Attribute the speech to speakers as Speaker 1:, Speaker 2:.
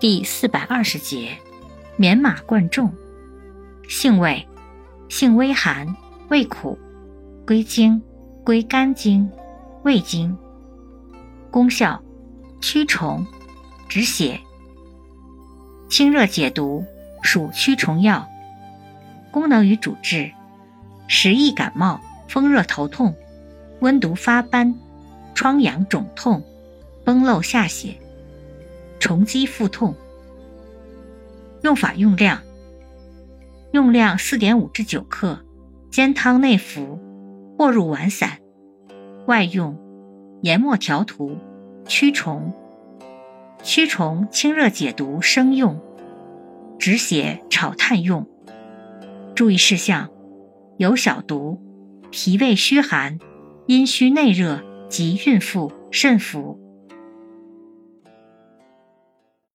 Speaker 1: 第420节，免马贯众。性味：性微寒，味苦，归经：归肝经、胃经。功效：驱虫、止血。清热解毒，属驱虫药。功能与主治：时易感冒、风热头痛、温毒发斑、疮疡肿痛、崩漏下血、虫积腹痛。用法用量：用量4.5至9克，煎汤内服，或入丸散。外用：研末调涂，驱虫。驱虫清热解毒生用，止血炒炭用。注意事项：有小毒，脾胃虚寒、阴虚内热及孕妇慎服。